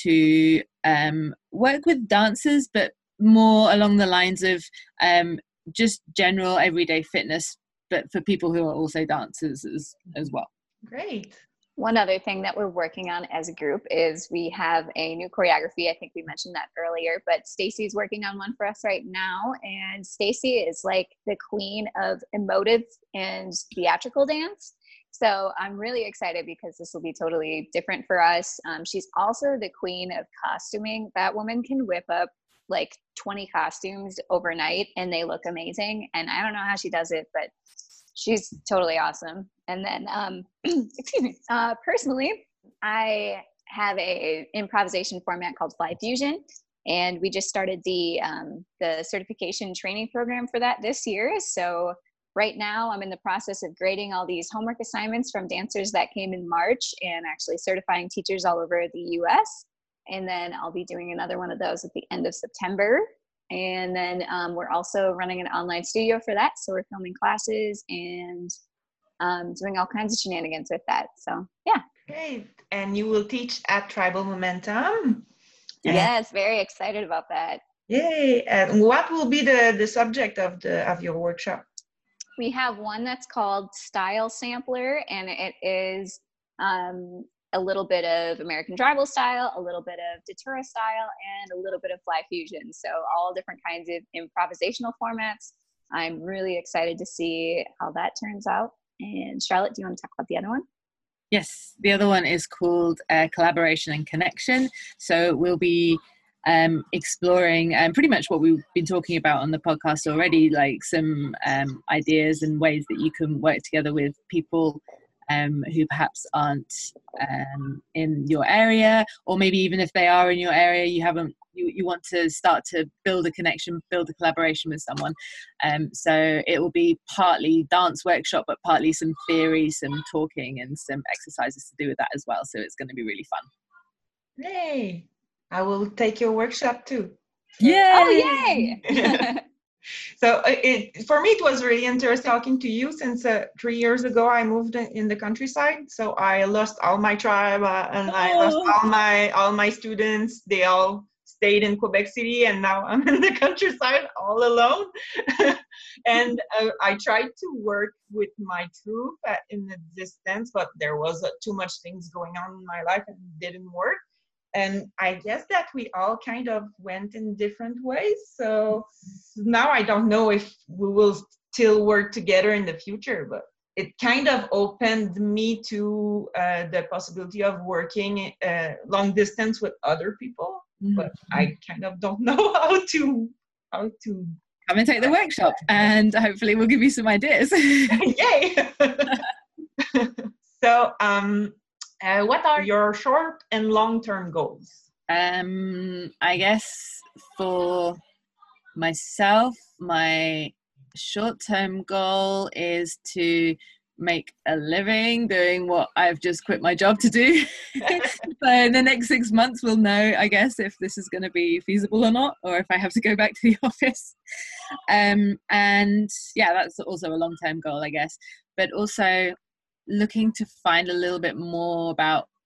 to um, work with dancers, but more along the lines of um, just general everyday fitness, but for people who are also dancers as, as well. Great. One other thing that we're working on as a group is we have a new choreography. I think we mentioned that earlier, but Stacy's working on one for us right now. And Stacy is like the queen of emotive and theatrical dance. So I'm really excited because this will be totally different for us. Um, she's also the queen of costuming. That woman can whip up like twenty costumes overnight and they look amazing. And I don't know how she does it, but she's totally awesome. And then, um, excuse me, uh, personally, I have a improvisation format called Fly Fusion, and we just started the um, the certification training program for that this year. So right now, I'm in the process of grading all these homework assignments from dancers that came in March, and actually certifying teachers all over the U S. And then I'll be doing another one of those at the end of September. And then um, we're also running an online studio for that. So we're filming classes and um, doing all kinds of shenanigans with that. So yeah. Great. And you will teach at Tribal Momentum. Yes, very excited about that. Yay. And what will be the, the subject of the of your workshop? We have one that's called Style Sampler, and it is um, a little bit of American tribal style, a little bit of Datura style, and a little bit of Fly Fusion. So all different kinds of improvisational formats. I'm really excited to see how that turns out. And Charlotte, do you want to talk about the other one? Yes, the other one is called uh, Collaboration and Connection. So we'll be um, exploring um, pretty much what we've been talking about on the podcast already, like some um, ideas and ways that you can work together with people Um, who perhaps aren't um, in your area, or maybe even if they are in your area, you haven't, you, you want to start to build a connection, build a collaboration with someone. Um, so it will be partly dance workshop, but partly some theory, some talking, and some exercises to do with that as well. So it's going to be really fun. Yay! I will take your workshop too. Yay! Oh, yay! So it, for me, it was really interesting talking to you since uh, three years ago I moved in the countryside. So I lost all my tribe uh, and I lost all my all my students. They all stayed in Quebec City, and now I'm in the countryside all alone. And uh, I tried to work with my troupe uh, in the distance, but there was uh, too much things going on in my life and it didn't work. And I guess that we all kind of went in different ways. So now I don't know if we will still work together in the future, but it kind of opened me to uh, the possibility of working uh, long distance with other people. Mm-hmm. But I kind of don't know how to, how to. Come and take the workshop, and hopefully we'll give you some ideas. Yay! So, um, Uh, what are your short and long-term goals? Um, I guess for myself, my short-term goal is to make a living doing what I've just quit my job to do. So in the next six months, we'll know, I guess, if this is going to be feasible or not, or if I have to go back to the office. Um, and yeah, that's also a long-term goal, I guess. But also looking to find a little bit more about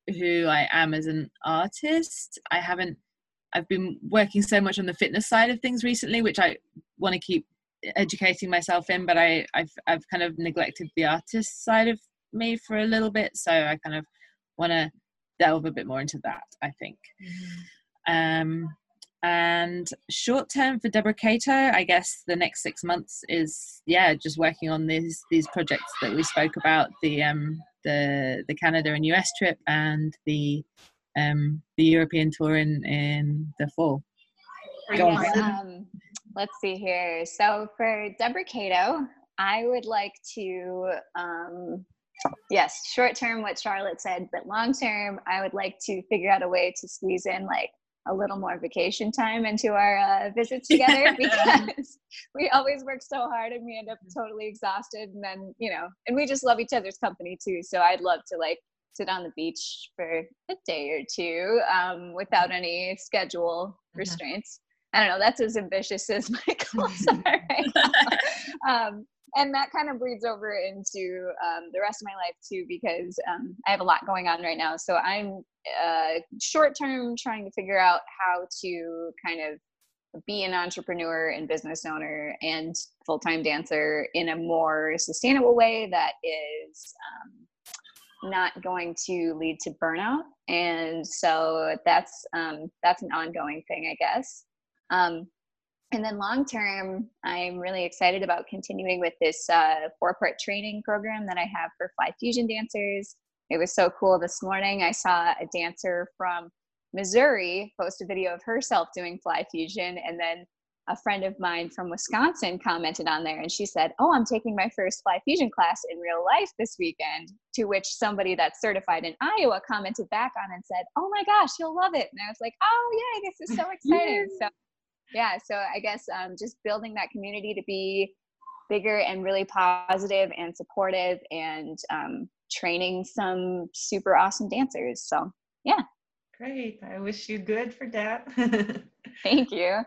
who I am as an artist. I haven't, I've been working so much on the fitness side of things recently, which I want to keep educating myself in, but I, I've, I've kind of neglected the artist side of me for a little bit. So I kind of want to delve a bit more into that, I think. Mm-hmm. Um, and short term for Deborah Cato, I guess the next six months is, yeah, just working on these, these projects that we spoke about, the, um, the, the Canada and U S trip and the, um, the European tour in, in the fall. Yes, um, let's see here. So for Deborah Cato, I would like to, um, yes, short term, what Charlotte said, but long term, I would like to figure out a way to squeeze in like a little more vacation time into our uh, visits together because we always work so hard and we end up totally exhausted. And then, you know, and we just love each other's company too. So I'd love to like sit on the beach for a day or two um, without any schedule mm-hmm. restraints. I don't know, that's as ambitious as my goals are right now. Um, and that kind of bleeds over into um, the rest of my life too, because um, I have a lot going on right now. So I'm uh, short term trying to figure out how to kind of be an entrepreneur and business owner and full-time dancer in a more sustainable way that is um, not going to lead to burnout. And so that's um, that's an ongoing thing, I guess. Um, and then long term, I'm really excited about continuing with this uh, four-part training program that I have for Fly Fusion dancers. It was so cool. This morning, I saw a dancer from Missouri post a video of herself doing Fly Fusion, and then a friend of mine from Wisconsin commented on there, and she said, "Oh, I'm taking my first Fly Fusion class in real life this weekend," to which somebody that's certified in Iowa commented back on and said, "Oh my gosh, you'll love it." And I was like, "Oh yay, this is so exciting." So yeah, so I guess um, just building that community to be bigger and really positive and supportive, and um, training some super awesome dancers. So yeah. Great. I wish you good for that. Thank you.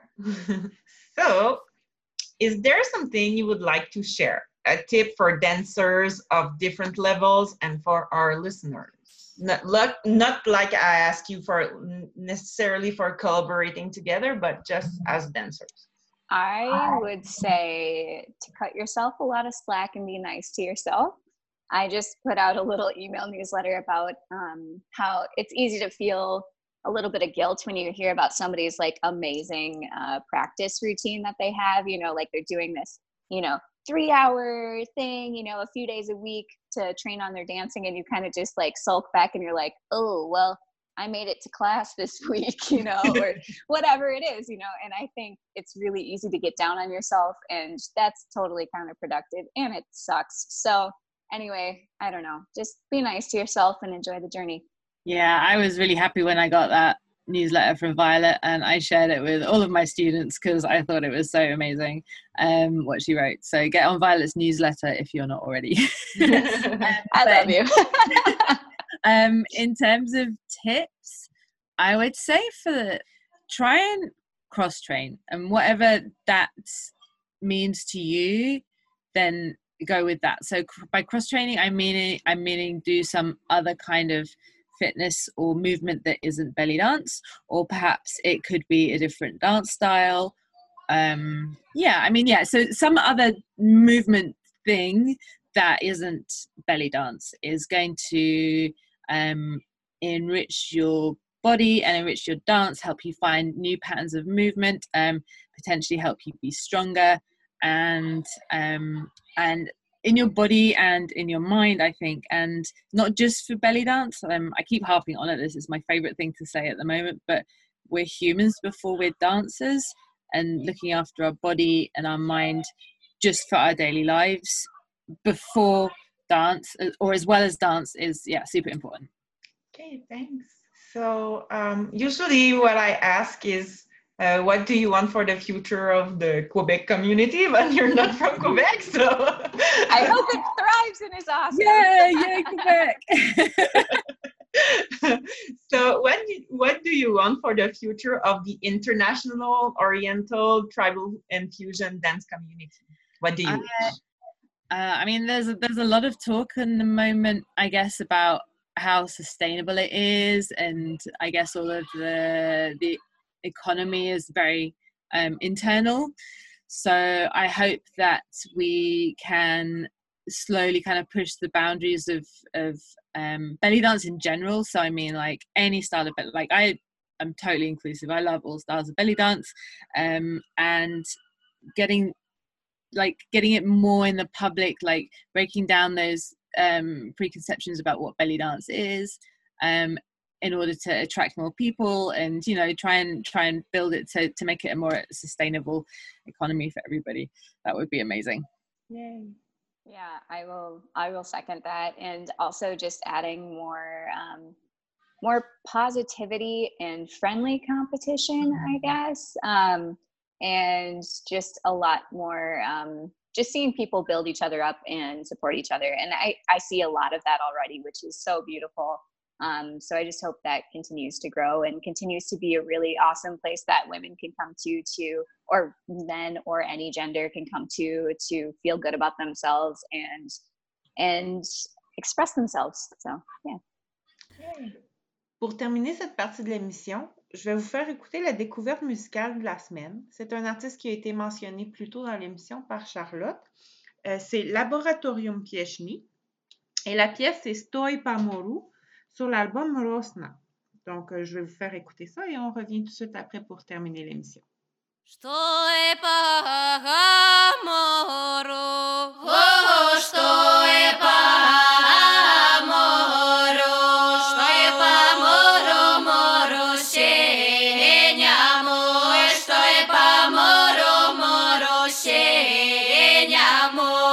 So, is there something you would like to share? A tip for dancers of different levels and for our listeners? Not, not like I ask you for necessarily for collaborating together, but just as dancers. I would say to cut yourself a lot of slack and be nice to yourself. I just put out a little email newsletter about um, how it's easy to feel a little bit of guilt when you hear about somebody's like amazing uh, practice routine that they have, you know, like they're doing this, you know, three hour thing, you know, a few days a week to train on their dancing, and you kind of just like sulk back and you're like, oh, well, I made it to class this week, you know, or whatever it is, you know. And I think it's really easy to get down on yourself, and that's totally counterproductive and it sucks. So anyway, I don't know, just be nice to yourself and enjoy the journey. Yeah, I was really happy when I got that newsletter from Violet, and I shared it with all of my students because I thought it was so amazing um, what she wrote. So get on Violet's newsletter if you're not already. um, I love you. um, in terms of tips, I would say for the, try and cross-train, and whatever that means to you, then go with that. So by cross-training, I mean I'm meaning do some other kind of fitness or movement that isn't belly dance, or perhaps it could be a different dance style. Um, yeah, I mean, yeah, so some other movement thing that isn't belly dance is going to um, enrich your body and enrich your dance, help you find new patterns of movement, um, potentially help you be stronger, and um, and in your body and in your mind, I think, and not just for belly dance. Um, I keep harping on it. This is my favorite thing to say at the moment, but we're humans before we're dancers, and looking after our body and our mind just for our daily lives before dance, or as well as dance, is, yeah, super important. Okay, thanks. So um, usually what I ask is, Uh, what do you want for the future of the Quebec community? But you're not from Quebec, so I hope it thrives and is awesome. Yeah, yeah, Quebec. So what do, what do you want for the future of the international Oriental tribal and fusion dance community? What do you uh, wish? Uh, I mean, there's a, there's a lot of talk in the moment, I guess, about how sustainable it is, and I guess all of the the economy is very um, internal. So I hope that we can slowly kind of push the boundaries of of um, belly dance in general. So I mean, like any style of belly, like I am totally inclusive. I love all styles of belly dance, um, and getting like getting it more in the public, like breaking down those um, preconceptions about what belly dance is, um, in order to attract more people, and you know, try and try and build it to to make it a more sustainable economy for everybody. That would be amazing. Yay. Yeah, I will. I will second that, and also just adding more, um, more positivity and friendly competition, I guess, um, and just a lot more. Um, just seeing people build each other up and support each other, and I I see a lot of that already, which is so beautiful. Um, so I just hope that continues to grow and continues to be a really awesome place that women can come to, to, or men or any gender can come to, to feel good about themselves and, and express themselves. So, yeah. Pour terminer cette partie de l'émission, je vais vous faire écouter la découverte musicale de la semaine. C'est un artiste qui a été mentionné plus tôt dans l'émission par Charlotte. Euh, c'est Laboratorium Pieśni. Et la pièce, c'est Stoi Pamoru, sur l'album Rosna. Donc, euh, je vais vous faire écouter ça et on revient tout de suite après pour terminer l'émission. Stoi Pamoru, oh, Stoi Pamoru, Stoi Pamoru, Moru, Shenyamo, Stoi Pamoru, Moru, Shenyamo.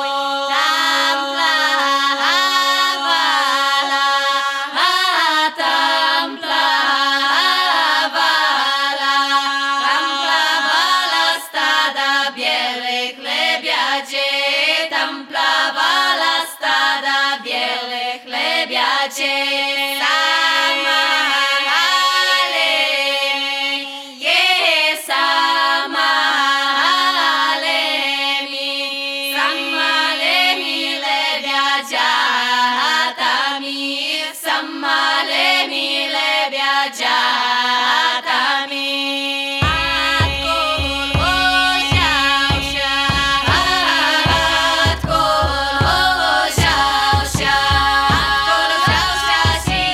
She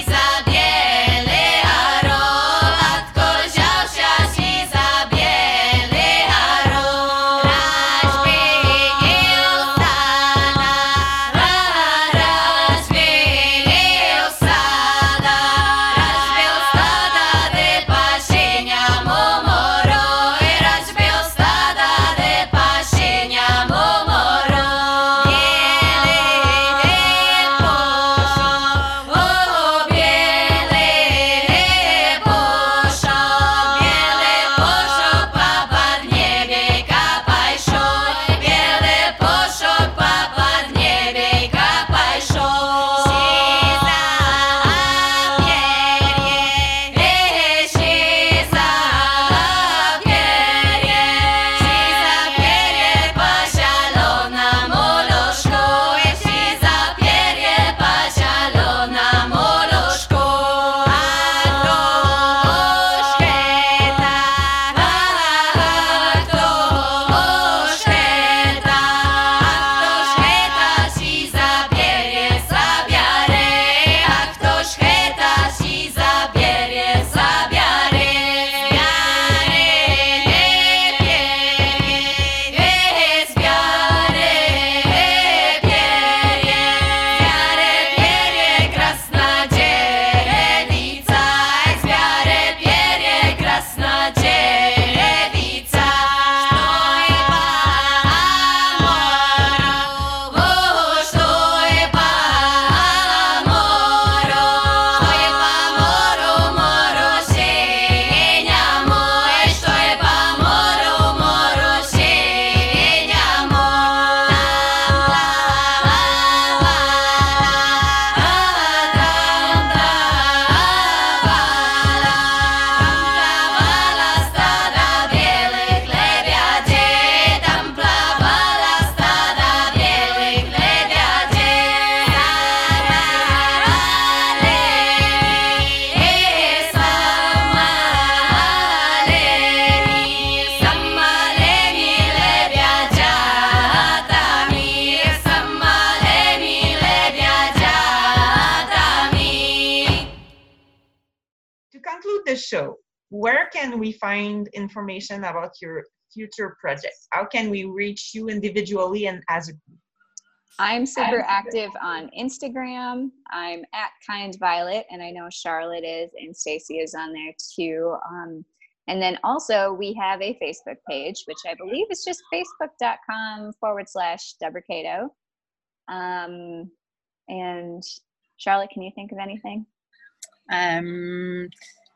the show, where can we find information about your future projects? How can we reach you individually and as a group? I'm super active on Instagram. I'm at Kind Violet, and I know Charlotte is, and Stacy is on there too. Um, and then also we have a Facebook page, which I believe is just facebook.com forward slash Deborah Cato. Um, and Charlotte, can you think of anything? Um,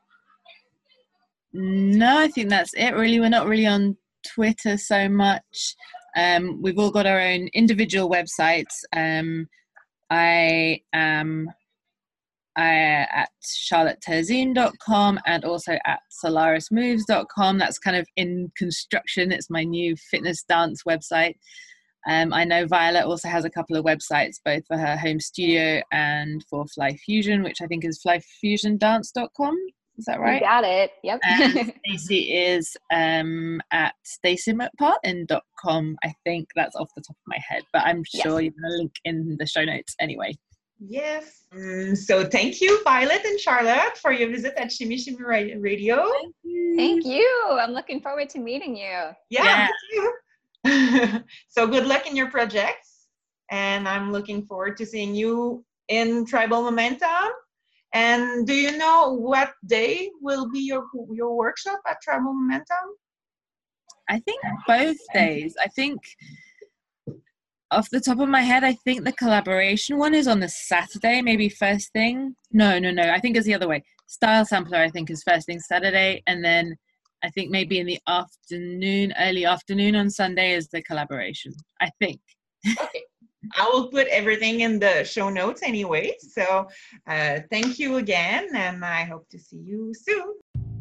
no, I think that's it really. We're not really on Twitter so much. Um, we've all got our own individual websites. Um, I am uh, at charlotte terzine dot com and also at solaris moves dot com. That's kind of in construction. It's my new fitness dance website. Um, I know Violet also has a couple of websites, both for her home studio and for Fly Fusion, which I think is fly fusion dance dot com. Is that right? You got it. Yep. And Stacey is um, at stacy mcpartlin dot com. I think that's off the top of my head, but I'm sure yes. You're going to link in the show notes anyway. Yes. Um, so thank you, Violet and Charlotte, for your visit at Shimmy Shimmy Radio. Thank you. Thank you. I'm looking forward to meeting you. Yeah, me too. So good luck in your projects. And I'm looking forward to seeing you in Tribal Momentum. And do you know what day will be your your workshop at Tribal Momentum? I think both days. I think off the top of my head, I think the collaboration one is on the Saturday, maybe first thing. No, no, no. I think it's the other way. Style Sampler, I think, is first thing Saturday. And then I think maybe in the afternoon, early afternoon on Sunday is the collaboration. I think. Okay. I will put everything in the show notes anyway. So uh, thank you again, and I hope to see you soon.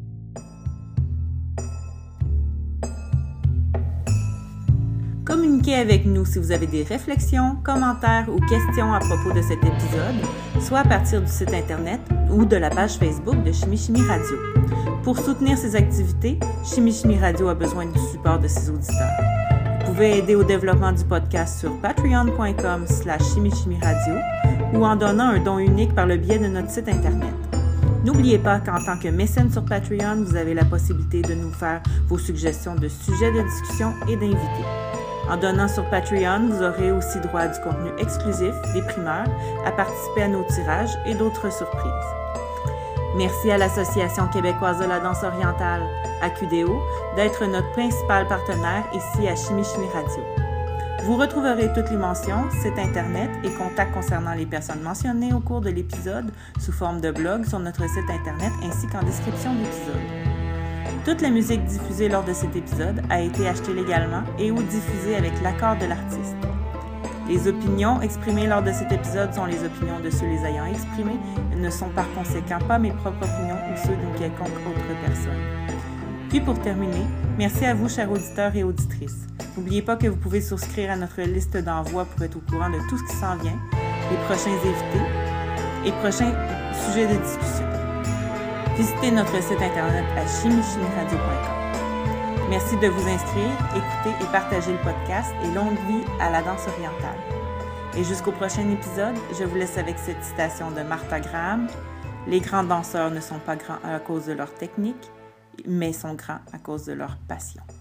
Communiquez avec nous si vous avez des réflexions, commentaires ou questions à propos de cet épisode, soit à partir du site Internet ou de la page Facebook de Shimmy Shimmy Radio. Pour soutenir ses activités, Shimmy Shimmy Radio a besoin du support de ses auditeurs. Vous pouvez aider au développement du podcast sur patreon.com slash chimichimiradio ou en donnant un don unique par le biais de notre site Internet. N'oubliez pas qu'en tant que mécène sur Patreon, vous avez la possibilité de nous faire vos suggestions de sujets de discussion et d'invités. En donnant sur Patreon, vous aurez aussi droit à du contenu exclusif, des primeurs, à participer à nos tirages et d'autres surprises. Merci à l'Association québécoise de la danse orientale, A Q D O, d'être notre principal partenaire ici à Shimmy Shimmy Radio. Vous retrouverez toutes les mentions, sites Internet et contacts concernant les personnes mentionnées au cours de l'épisode sous forme de blog sur notre site Internet ainsi qu'en description de l'épisode. Toute la musique diffusée lors de cet épisode a été achetée légalement et ou diffusée avec l'accord de l'artiste. Les opinions exprimées lors de cet épisode sont les opinions de ceux les ayant exprimées et ne sont par conséquent pas mes propres opinions ou ceux d'une quelconque autre personne. Puis pour terminer, merci à vous, chers auditeurs et auditrices. N'oubliez pas que vous pouvez souscrire à notre liste d'envoi pour être au courant de tout ce qui s'en vient, les prochains invités et prochains sujets de discussion. Visitez notre site Internet à chimie chimie radio point com. Merci de vous inscrire, écouter et partager le podcast et longue vie à la danse orientale. Et jusqu'au prochain épisode, je vous laisse avec cette citation de Martha Graham. Les grands danseurs ne sont pas grands à cause de leur technique, mais sont grands à cause de leur passion.